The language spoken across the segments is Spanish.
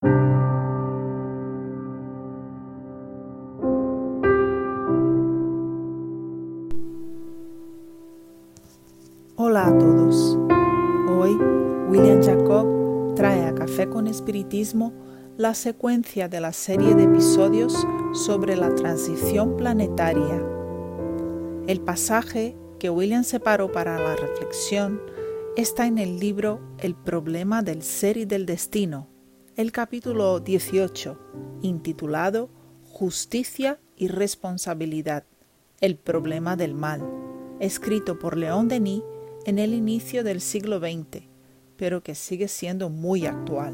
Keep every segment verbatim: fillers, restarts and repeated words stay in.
Hola a todos. Hoy William Jacob trae a Café con Espiritismo la secuencia de la serie de episodios sobre la transición planetaria. El pasaje que William separó para la reflexión está en el libro El problema del ser y del destino, el capítulo dieciocho, intitulado Justicia y responsabilidad, el problema del mal, escrito por León Denis en el inicio del siglo veinte, pero que sigue siendo muy actual.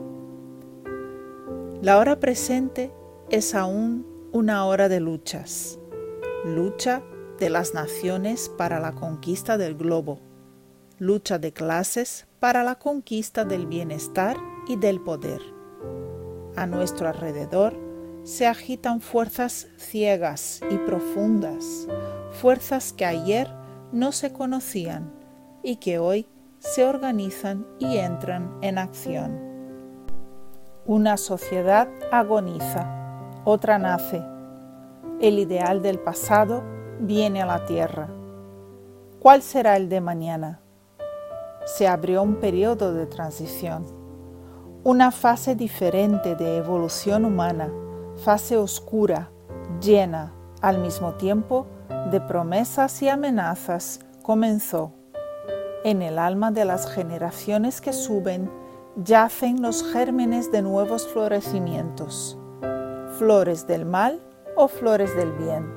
La hora presente es aún una hora de luchas, lucha de las naciones para la conquista del globo, lucha de clases para la conquista del bienestar y del poder. A nuestro alrededor se agitan fuerzas ciegas y profundas, fuerzas que ayer no se conocían y que hoy se organizan y entran en acción. Una sociedad agoniza, otra nace. El ideal del pasado viene a la tierra. ¿Cuál será el de mañana? Se abrió un periodo de transición, una fase diferente de evolución humana, fase oscura, llena, al mismo tiempo, de promesas y amenazas, comenzó. En el alma de las generaciones que suben yacen los gérmenes de nuevos florecimientos, flores del mal o flores del bien.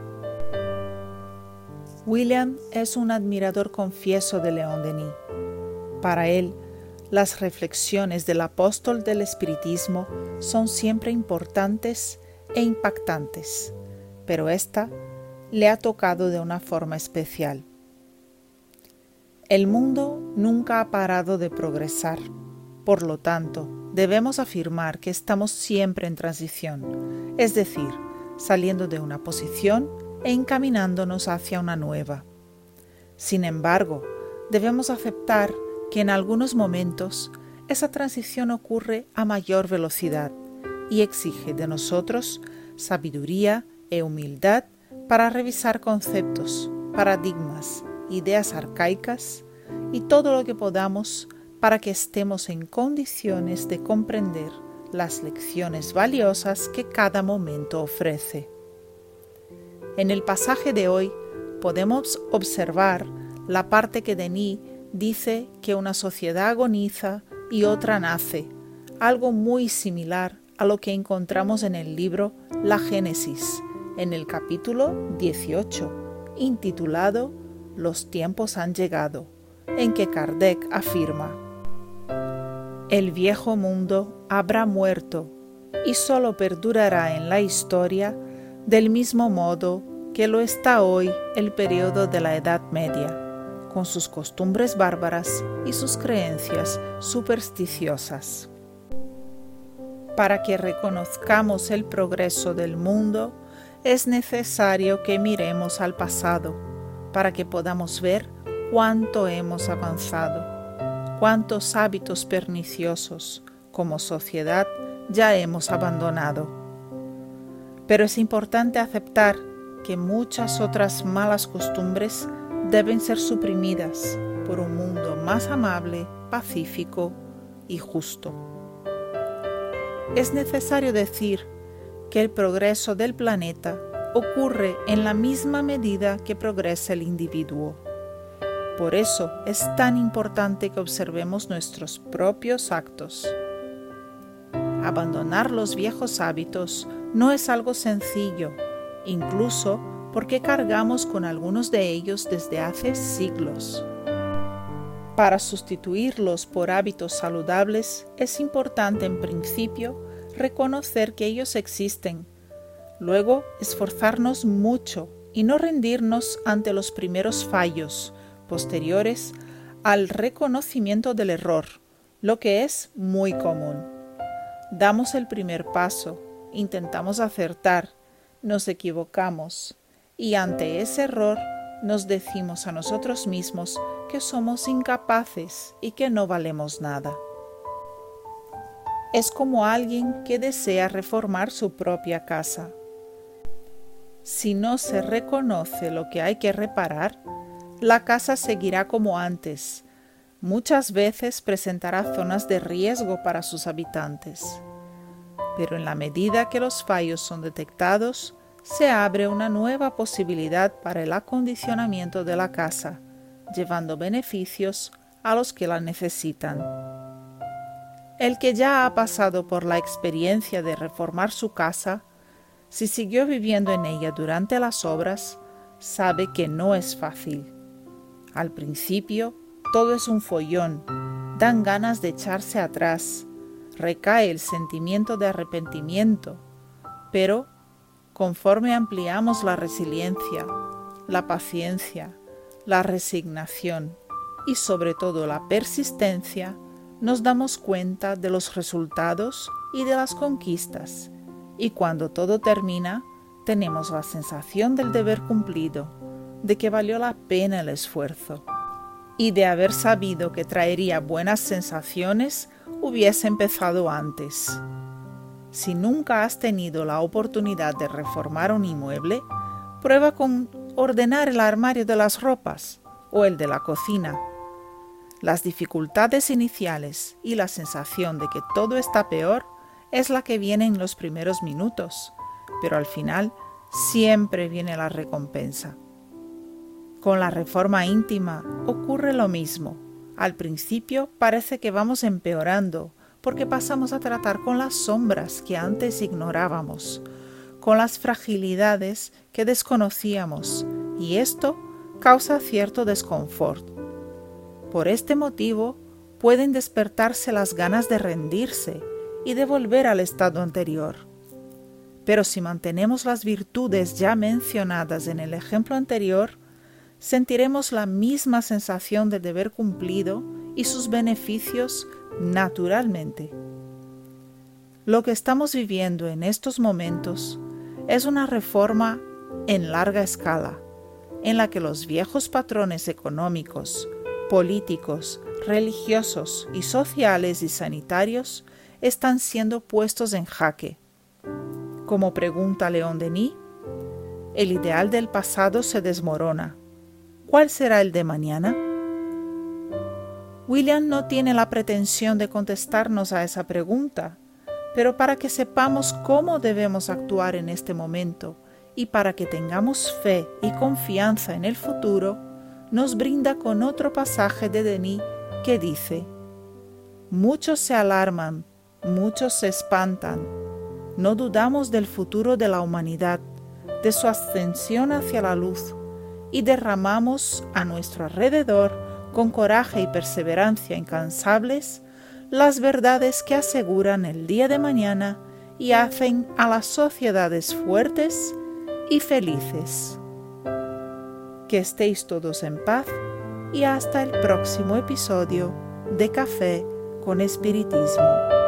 William es un admirador confieso de León Denis. Para él, las reflexiones del apóstol del espiritismo son siempre importantes e impactantes, pero esta le ha tocado de una forma especial. El mundo nunca ha parado de progresar. Por lo tanto, debemos afirmar que estamos siempre en transición, es decir, saliendo de una posición e encaminándonos hacia una nueva. Sin embargo, debemos aceptar que en algunos momentos esa transición ocurre a mayor velocidad y exige de nosotros sabiduría e humildad para revisar conceptos, paradigmas, ideas arcaicas y todo lo que podamos para que estemos en condiciones de comprender las lecciones valiosas que cada momento ofrece. En el pasaje de hoy podemos observar la parte que Denis dice que una sociedad agoniza y otra nace, algo muy similar a lo que encontramos en el libro La Génesis, en el capítulo dieciocho, intitulado Los tiempos han llegado, en que Kardec afirma: el viejo mundo habrá muerto y solo perdurará en la historia del mismo modo que lo está hoy el periodo de la Edad Media, con sus costumbres bárbaras y sus creencias supersticiosas. Para que reconozcamos el progreso del mundo, es necesario que miremos al pasado, para que podamos ver cuánto hemos avanzado, cuántos hábitos perniciosos como sociedad ya hemos abandonado. Pero es importante aceptar que muchas otras malas costumbres deben ser suprimidas por un mundo más amable, pacífico y justo. Es necesario decir que el progreso del planeta ocurre en la misma medida que progresa el individuo. Por eso es tan importante que observemos nuestros propios actos. Abandonar los viejos hábitos no es algo sencillo, incluso porque cargamos con algunos de ellos desde hace siglos. Para sustituirlos por hábitos saludables es importante en principio reconocer que ellos existen, luego esforzarnos mucho y no rendirnos ante los primeros fallos posteriores al reconocimiento del error, lo que es muy común. Damos el primer paso, intentamos acertar, nos equivocamos y ante ese error nos decimos a nosotros mismos que somos incapaces y que no valemos nada. es como alguien que desea reformar su propia casa. Si no se reconoce lo que hay que reparar, la casa seguirá como antes. Muchas veces presentará zonas de riesgo para sus habitantes. Pero en la medida que los fallos son detectados, se abre una nueva posibilidad para el acondicionamiento de la casa, llevando beneficios a los que la necesitan. El que ya ha pasado por la experiencia de reformar su casa, si siguió viviendo en ella durante las obras, sabe que no es fácil. Al principio, todo es un follón, dan ganas de echarse atrás, recae el sentimiento de arrepentimiento, pero conforme ampliamos la resiliencia, la paciencia, la resignación y sobre todo la persistencia, nos damos cuenta de los resultados y de las conquistas, y cuando todo termina, tenemos la sensación del deber cumplido, de que valió la pena el esfuerzo, y de haber sabido que traería buenas sensaciones, hubiese empezado antes. Si nunca has tenido la oportunidad de reformar un inmueble, prueba con ordenar el armario de las ropas o el de la cocina. Las dificultades iniciales y la sensación de que todo está peor es la que viene en los primeros minutos, pero al final siempre viene la recompensa. Con la reforma íntima ocurre lo mismo. Al principio parece que vamos empeorando, porque pasamos a tratar con las sombras que antes ignorábamos, con las fragilidades que desconocíamos, y esto causa cierto desconfort. Por este motivo, pueden despertarse las ganas de rendirse y de volver al estado anterior. Pero si mantenemos las virtudes ya mencionadas en el ejemplo anterior, sentiremos la misma sensación de deber cumplido y sus beneficios naturalmente. Lo que estamos viviendo en estos momentos es una reforma en larga escala, en la que los viejos patrones económicos, políticos, religiosos y sociales y sanitarios están siendo puestos en jaque. Como pregunta León Denis, el ideal del pasado se desmorona. ¿Cuál será el de mañana? William no tiene la pretensión de contestarnos a esa pregunta, pero para que sepamos cómo debemos actuar en este momento y para que tengamos fe y confianza en el futuro, nos brinda con otro pasaje de Denis que dice: muchos se alarman, muchos se espantan. No dudamos del futuro de la humanidad, de su ascensión hacia la luz, y derramamos a nuestro alrededor, con coraje y perseverancia incansables, las verdades que aseguran el día de mañana y hacen a las sociedades fuertes y felices. Que estéis todos en paz y hasta el próximo episodio de Café con Espiritismo.